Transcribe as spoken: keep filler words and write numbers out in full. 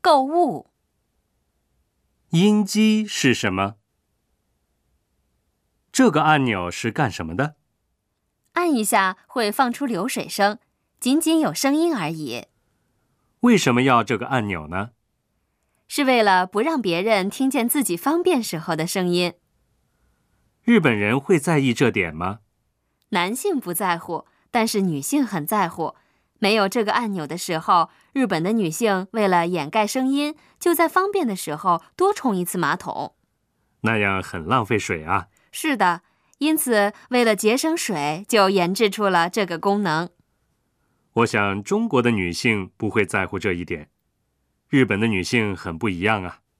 购物。 音机是什么？这个按钮是干什么的？ 按一下会放出流水声，仅仅有声音而已。 为什么要这个按钮呢？ 是为了不让别人听见自己方便时候的声音。 日本人会在意这点吗？ 男性不在乎，但是女性很在乎。没有这个按钮的时候，日本的女性为了掩盖声音，就在方便的时候多冲一次马桶。 那样很浪费水啊。 是的，因此为了节省水，就研制出了这个功能。 我想中国的女性不会在乎这一点。日本的女性很不一样啊。